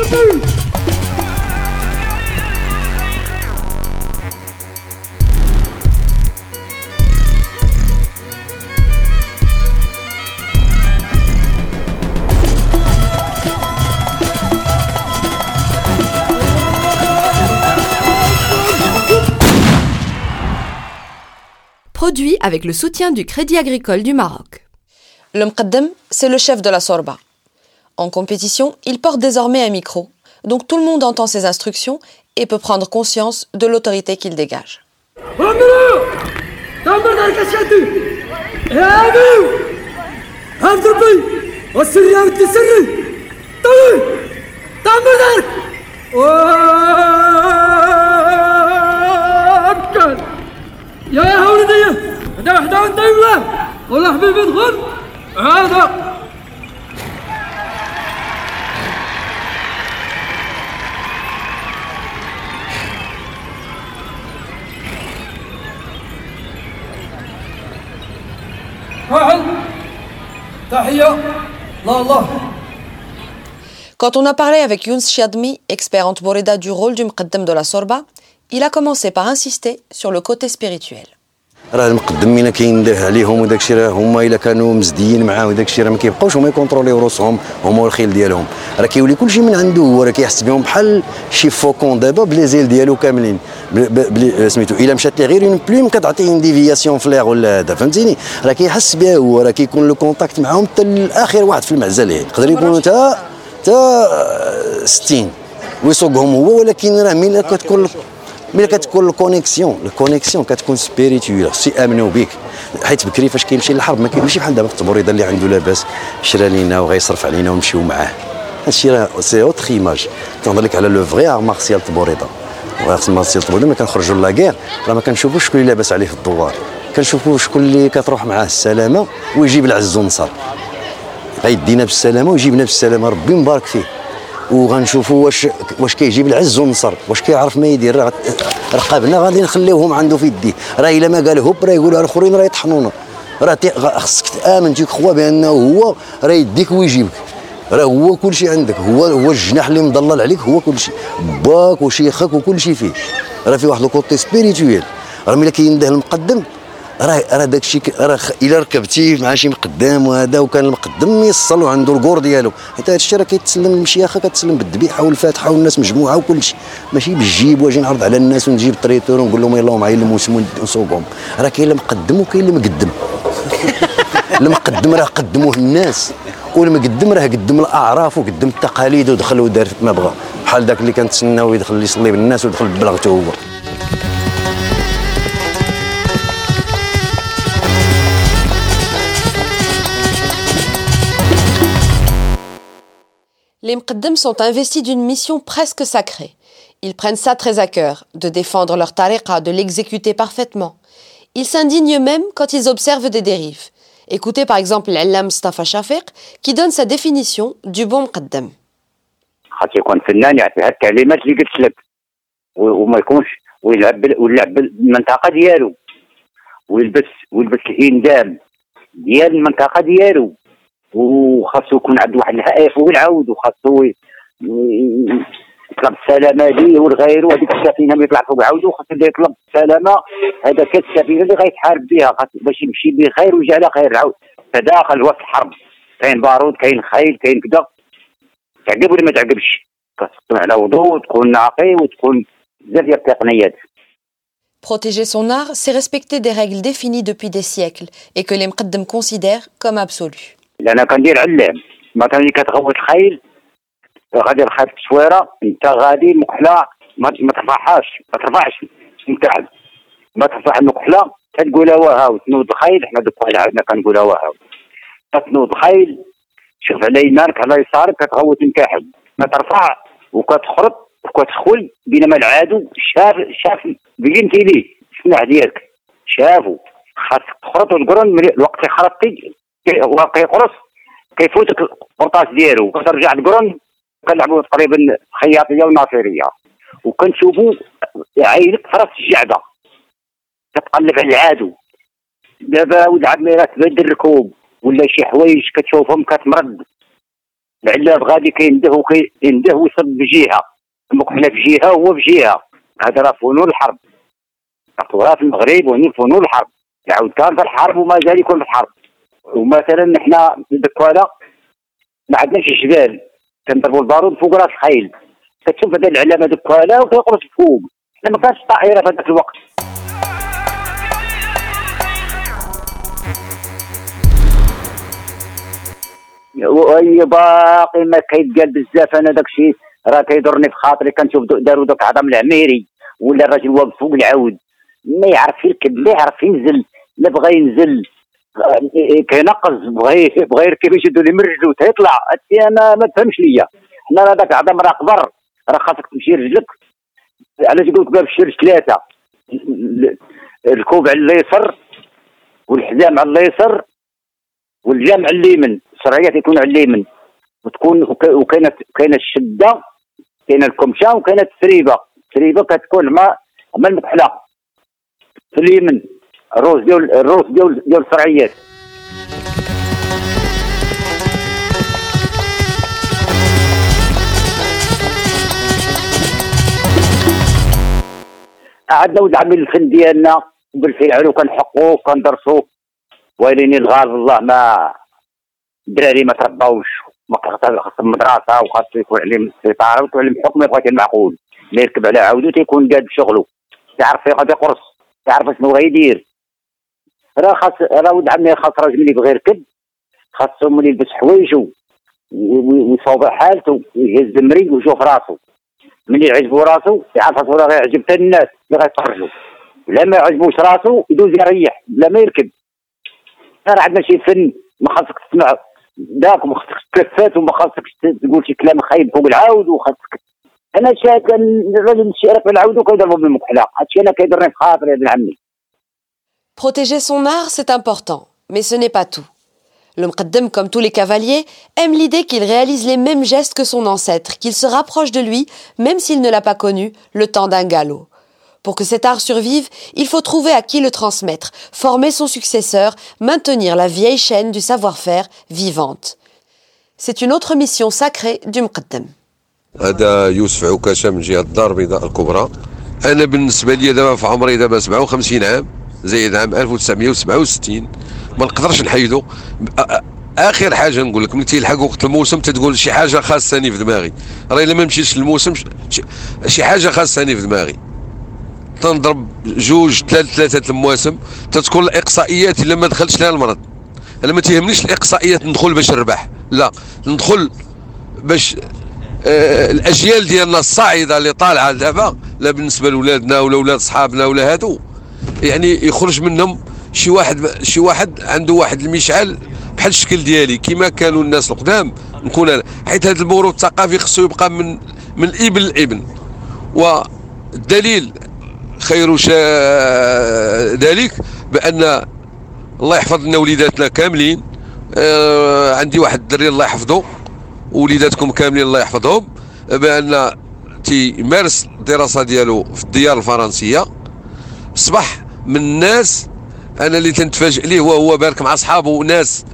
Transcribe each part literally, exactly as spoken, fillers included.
Produit avec le soutien du Crédit Agricole du Maroc. Le Mqaddam, c'est le chef de la Sorba. En compétition, il porte désormais un micro, donc tout le monde entend ses instructions et peut prendre conscience de l'autorité qu'il dégage. يا يا ولدي هدا وحده وانت الله والله حبيبي ادخل هذا واحد تحية لا الله. Quand on a parlé avec Younes Chiadmi, expert en Tboreda du rôle du Mqaddam de la Sorba, il a commencé par insister sur le côté spirituel. راه المقدمين كينداه عليهم وداك الشيء راه هما الا كانوا مزديين معاه وداك الشيء راه ما كيبقاوش هما يكونتروليو روسهم هما والخيل ديالهم، راه كيولي كلشي من عنده هو، راه كيحس بهم بحال شي فوكون دابا بليزيل ديالو كاملين بلي سميتو الا مشات ليه غير اون بلوم كتعطيه اون ديفياسيون فليغ ولا هذا فهمتيني، راه كيحس بها هو، راه كيكون لو كونتاكت معاهم حتى الاخر واحد في المعزه ليه يقدر يكون حتى حتى ستين ويسوقهم هو، ولكن راه ملي كتكون ملي كتكون الكونيكسيون الكونيكسيون كتكون سبيريتويل خصو يامنوا بك، حيت بكري فاش كيمشي للحرب ما ماشي بحال دابا التبوريده اللي عنده لاباس شرا لينا وغيصرف علينا ونمشيو معاه، هادشي راه سي اوتر ايماج. كنهضر لك على لو فغي ار مارسيال التبوريده، وغير مارسيال التبوريده ملي كنخرجوا لاكير راه ما كنشوفوش شكون اللي لاباس عليه في الدوار، كنشوفوا شكون اللي كتروح معاه السلامه ويجيب العز والنصر، غيدينا بالسلامه ويجيبنا بالسلامه ربي مبارك فيه، وغنشوفوا واش واش كيجيب العز والنصر، واش كيعرف ما يدير، راه رقابنا غادي نخليوهم عنده في يديه، راه الا ما قال هوب راه يقولوا الاخرين راه يطحنونا، راه خصك تامن تيك خوا بانه هو راه يديك ويجيبك، راه هو كلشي عندك، هو هو الجناح اللي مضلل عليك، هو كلشي باك وشيخك وكلشي فيه، راه في واحد الكوتي سبيريتويل، راه ملي كينده المقدم راه راه داكشي راه الا ركبتي مع شي مقدام وهذا وكان المقدم يصل وعنده الكور ديالو، حيت هذا الشيء راه كيتسلم المشيخه كتسلم بالذبيحه والفاتحه والناس مجموعه وكلشي، ماشي بالجيب واجي نعرض على الناس ونجيب الطريتور ونقول لهم يلاه معايا الموسم ونسوقهم، راه كاين اللي مقدم وكاين اللي مقدم. المقدم راه قدموه الناس، والمقدم راه قدم الاعراف وقدم التقاليد ودخل ودار ما بغى، بحال داك اللي كنتسناو يدخل يصلي بالناس ودخل ببلغته هو. Les Mqaddam sont investis d'une mission presque sacrée. Ils prennent ça très à cœur, de défendre leur tariqa, de l'exécuter parfaitement. Ils s'indignent même quand ils observent des dérives. Écoutez par exemple l'Allam Mustafa Shafiq qui donne sa définition du bon Mqaddam. خاص يكون فنان يعطيها الكلمات اللي قلت لك وما يكونش ويلعب ويلعب المنطقه ديالو ويلبس ويلبس الإندام ديال المنطقه ديالو، وخاصو يكون عنده واحد الهائف ويعاود، وخاصو يطلب السلامه ليه والغير، وهذيك السفينه اللي يطلع فوق ويعاودو خاصو يطلب السلامه، هذا كانت السفينه اللي غيتحارب بها باش يمشي بخير ويجي على خير. عاود تداخل وسط الحرب، كاين بارود كاين خيل كاين كذا، تعقب ولا ما تعقبش، كتكون على وضوء وتكون ناقي وتكون بزاف ديال التقنيات. Protéger son art, c'est respecter des règles définies depuis des siècles et que les Mqaddam considèrent comme absolues. انا كندير علام مثلا اللي كتغوت الخيل غادي الخيل في التصويره، انت غادي المكحله ما ترفعهاش ما ترفعش متعب، ما ترفع المكحله تنقولها وهاو تنوض الخيل، حنا دوك عندنا كنقولها وهاو تنوض الخيل، شوف على يمانك على يسارك كتغوت المكاحل، كترفع وكتخرط وكتخول، بينما العادو شاف شاف بينتي ليه السلاح ديالك شافو، خاصك تخرط وتقرن الوقت خرطتي هو كيقرص كيفوتك القرطاس ديالو، كترجع تقرن. كنلعبوا تقريبا خياطيه وناصريه، وكنشوفوا عينك في راس الجعده كتقلب على العادو. دابا ولد عمي راه تبدل الركوب ولا شي حوايج كتشوفهم كتمرض، العلاب غادي كينده كينده ويصب بجهه، المكحله في جهه وهو في جهه. هذا راه فنون الحرب، راه في المغرب وهنا فنون الحرب. يعاود كان في الحرب وما زال يكون في الحرب. ومثلا حنا الدكواله ما عندناش جبال، كنضربوا البارود فوق راس الخيل. كتشوف هذا العلامه دكواله وكيقرص فوق. حنا ما كانش طائره في هذاك الوقت. وهي باقي ما كيتقال بزاف. انا داكشي راه كيضرني في خاطري. كنشوف داروا داك عظم العميري ولا الراجل واقف فوق العود ما يعرف يركب، ما يعرف ينزل، لا بغى ينزل كينقز، بغى بغى يركب يشدوا لي من رجلو تيطلع. هادشي انا ما تفهمش ليا. حنا راه داك عظم راه كبر، راه خاصك تمشي رجلك. علاش يقول لك باب الشرج ثلاثه، الكوب على اليسر والحزام على اليسر والجامع على اليمين، الشرعيات يكون على اليمين، وتكون وكاينه كاينه الشده، كاينه الكمشه وكاينه التسريبه. التسريبه كتكون مع مع المكحله في اليمين، الروس ديال الروس ديال ديال الشرعيات. عندنا ولد عمي الفن ديالنا بالفعل وكنحقوه وكندرسوه، ولكن الغالب الله ما الدراري ما ترباوش، ما خاصهم مدرسه وخاصو يكون عليهم السيطره ويعلم الحكم. يبغى المعقول ما يركب على عودو تيكون قاد بشغله، تعرف فين غادي يقرص، تعرف شنو غيدير. راه خاص راه ولد عمي خاص راجل ملي يبغي يركب خاصو ملي يلبس حوايجو ويصوب حالته ويهز المري ويشوف راسو. ملي يعجبو راسو يعرف راسو راه غيعجب حتى الناس اللي غيتفرجوا. لا ما يعجبوش راسو يدوز يريح بلا ما يركب. راه عندنا شي فن ما خاصك تسمع داك وما خاصكش تلفات وما خاصكش تقول شي كلام خايب فوق العاود. وخاصك انا شاك الراجل الشارع في العاود وكيضربو بالمكحله. هادشي انا كيضرني في خاطري يا ابن عمي. Protéger son art, c'est important, mais ce n'est pas tout. Le Mqaddam, comme tous les cavaliers, aime l'idée qu'il réalise les mêmes gestes que son ancêtre, qu'il se rapproche de lui, même s'il ne l'a pas connu, le temps d'un galop. Pour que cet art survive, il faut trouver à qui le transmettre, former son successeur, maintenir la vieille chaîne du savoir-faire vivante. C'est une autre mission sacrée du Mqaddam. هذا يوسف عكاشة من جهة الدار البيضاء الكبرى. أنا بالنسبة لي دابا في عمري دابا سبعة وخمسين عام زايد عام ألف وتسعمائة وسبعة وستين، ما نقدرش نحيدو. اخر حاجه نقول لك ملي تيلحق وقت الموسم تتقول شي حاجه خاصني في دماغي. راه الا ما مشيتش للموسم شي حاجه خاصني في دماغي. تنضرب جوج ثلاث ثلاثه المواسم تتكون الاقصائيات الا ما دخلتش لها المرض. انا ما تيهمنيش الاقصائيات ندخل باش نربح، لا ندخل باش آه الاجيال ديالنا الصاعده اللي طالعه دابا، لا بالنسبه لولادنا ولا ولاد صحابنا ولا هادو، يعني يخرج منهم شي واحد شي واحد عنده واحد المشعل بحال الشكل ديالي كما كانوا الناس القدام نكون انا. حيت هذا الموروث الثقافي خصو يبقى من من الابن للابن. والدليل خير ذلك بان الله يحفظ لنا وليداتنا كاملين. آه عندي واحد الدري الله يحفظه ووليداتكم كاملين الله يحفظهم، بان تيمارس الدراسه ديالو في الديار الفرنسيه. اصبح من الناس انا اللي تنتفاجئ ليه وهو بارك مع اصحابه وناس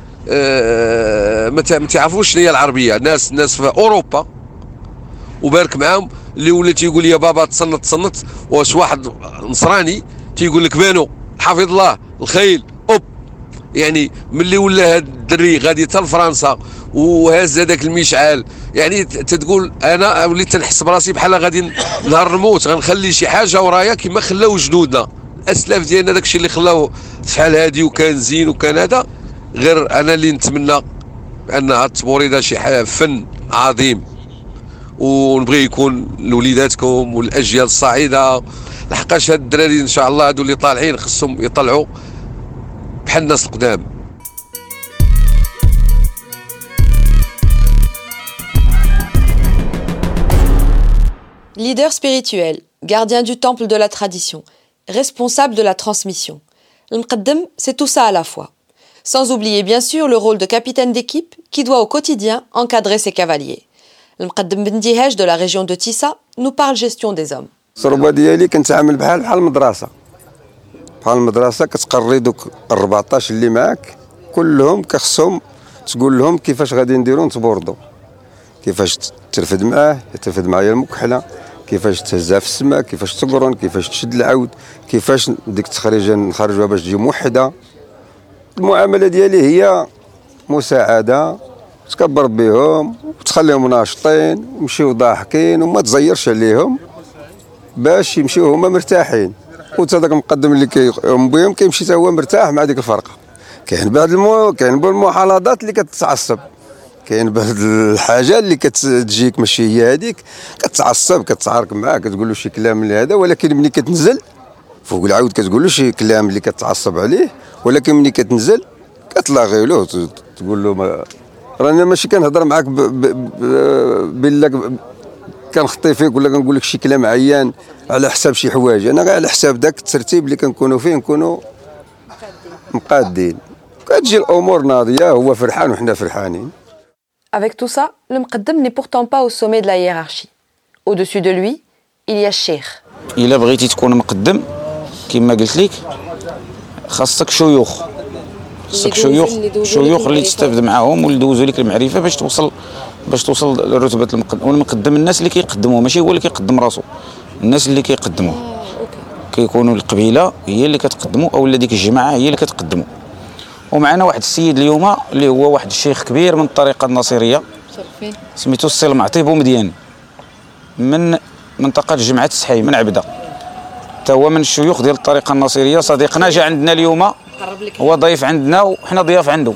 آه ما تعرفوش شنو هي العربيه، ناس ناس في اوروبا وبارك معاهم اللي ولا تيقول لي يا بابا تصنت تصنت. واش واحد نصراني تيقول لك بانو حفظ الله الخيل اوب. يعني ملي ولا هاد الدري غادي حتى لفرنسا وهاز هذاك المشعال، يعني تتقول انا وليت تنحس براسي بحال غادي نهار نموت، غنخلي شي حاجه ورايا كما خلاو جدودنا الاسلاف ديالنا. داكشي اللي خلاوه شحال هادي وكان زين وكان هذا. غير انا اللي نتمنى ان هاد التبوريده شي فن عظيم، ونبغي يكون لوليداتكم والاجيال الصاعده، لحقاش هاد الدراري ان شاء الله هادو اللي طالعين خصهم يطلعوا بحال الناس القدام. Leader spirituel, gardien du temple de la tradition, responsable de la transmission. Le Mqaddam, c'est tout ça à la fois. Sans oublier bien sûr le rôle de capitaine d'équipe qui doit au quotidien encadrer ses cavaliers. Le Mqaddam Ben Dihaj de la région de Tissa nous parle gestion des hommes. الصربه ديالي كنتعامل بحال بحال المدرسه، بحال المدرسه كتقري دوك أربعطاش اللي معاك كلهم كخصهم تقول لهم كيفاش غادي نديرو نتبوردو. كيفاش ترفد معاه، ترفد معايا المكحله، كيفاش تهزها في السماء، كيفاش تقرن، كيفاش تشد العود، كيفاش ديك التخريجه نخرجوها باش تجي موحده. المعامله ديالي هي مساعده، تكبر بهم وتخليهم ناشطين ويمشيو ضاحكين وما تزيرش عليهم باش يمشيو هما مرتاحين، وتا داك المقدم اللي كيقوم بهم كيمشي حتى هو مرتاح مع ديك الفرقه. كاين بعض المو... كاين بعض المحافظات اللي كتعصب، كاين بعض الحاجه اللي كتجيك ماشي هي هذيك، كتعصب كتعارك معاه كتقول له شي كلام اللي هذا، ولكن ملي كتنزل فوق العود كتقول له شي كلام اللي كتعصب عليه، ولكن ملي كتنزل كتلاغي له تقول له ما... رانا ماشي كنهضر معاك ب... ب... ب... بالله كنخطي فيك ولا كنقول لك شي كلام عيان على حساب شي حوايج، انا غير على حساب داك الترتيب اللي كنكونوا فيه نكونوا مقادين، كتجي الامور ناضيه، هو فرحان وحنا فرحانين. Avec tout ça, le مقدم n'est pourtant pas au sommet de la hiérarchie. Au-dessus de lui, il y a الشيخ. إلا بغيتي تكون مقدم كما قلت لك خاصك شيوخ، خاصك شيوخ شيوخ اللي تستافد معاهم واللي يدوزوا لك المعرفه باش توصل باش توصل لرتبه المقدم. والمقدم الناس اللي كيقدموا، ماشي هو اللي كيقدم راسو، الناس اللي كيقدموا كيكونوا القبيله هي اللي كتقدموا او ديك الجماعه هي اللي كتقدموا. ومعنا واحد السيد اليوم اللي هو واحد الشيخ كبير من الطريقه الناصريه سميتو السي المعطي بومديان من منطقه جمعه السحي من عبده، حتى هو من الشيوخ ديال الطريقه الناصريه. صديقنا جا عندنا اليوم، هو ضيف عندنا وحنا ضياف عنده.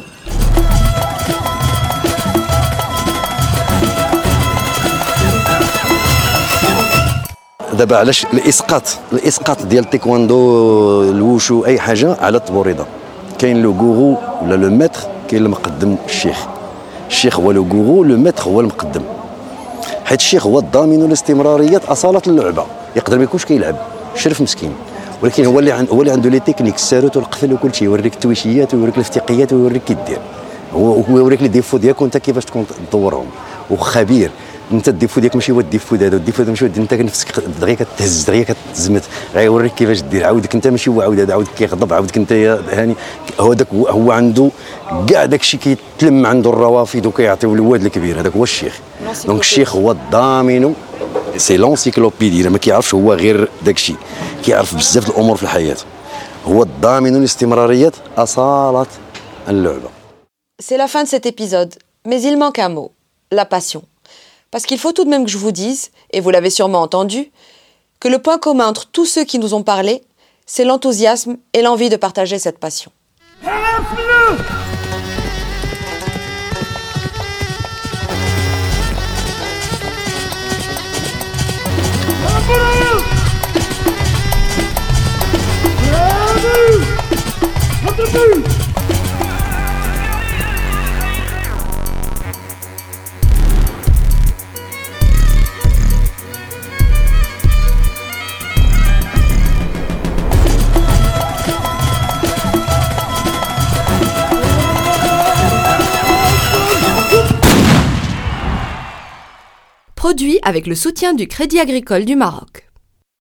دابا علاش الاسقاط الاسقاط ديال التايكواندو الوشو اي حاجه على الطبوريضه؟ كاين لو غورو ولا لو ماتر، كاين المقدم الشيخ. الشيخ هو لو غورو، لو ماتر هو المقدم، حيت الشيخ هو الضامن الاستمراريه اصاله اللعبه. يقدر ما يكونش كيلعب شرف مسكين، ولكن هو اللي هو اللي عنده لي تكنيك الساروت والقفل وكل شيء، يوريك التويشيات ويوريك الافتقيات ويوريك كي دير، هو هو يوريك لي ديفو ديالك وانت كيفاش تكون تطورهم. وخبير انت الديفو ديالك ماشي هو الديفو هذا، الديفو هذا ماشي انت نفسك دغيا كتهز دغيا كتزمت، غيوريك كيفاش دير. عاودك انت ماشي هو عاود هذا عاود كيغضب، عاودك انت هاني هو داك هو عنده كاع داك الشيء كيتلم عنده الروافد وكيعطيو الواد الكبير، هذاك هو الشيخ. دونك الشيخ هو الضامن، سي لونسيكلوبيدي، ما كيعرفش هو غير داك الشيء، كيعرف بزاف الامور في الحياه، هو الضامن الاستمراريه اصاله اللعبه. C'est la fin de cet épisode, mais il manque un mot, la passion. Parce qu'il faut tout de même que je vous dise, et vous l'avez sûrement entendu, que le point commun entre tous ceux qui nous ont parlé, c'est l'enthousiasme et l'envie de partager cette passion. Produit avec le soutien du Crédit Agricole du Maroc.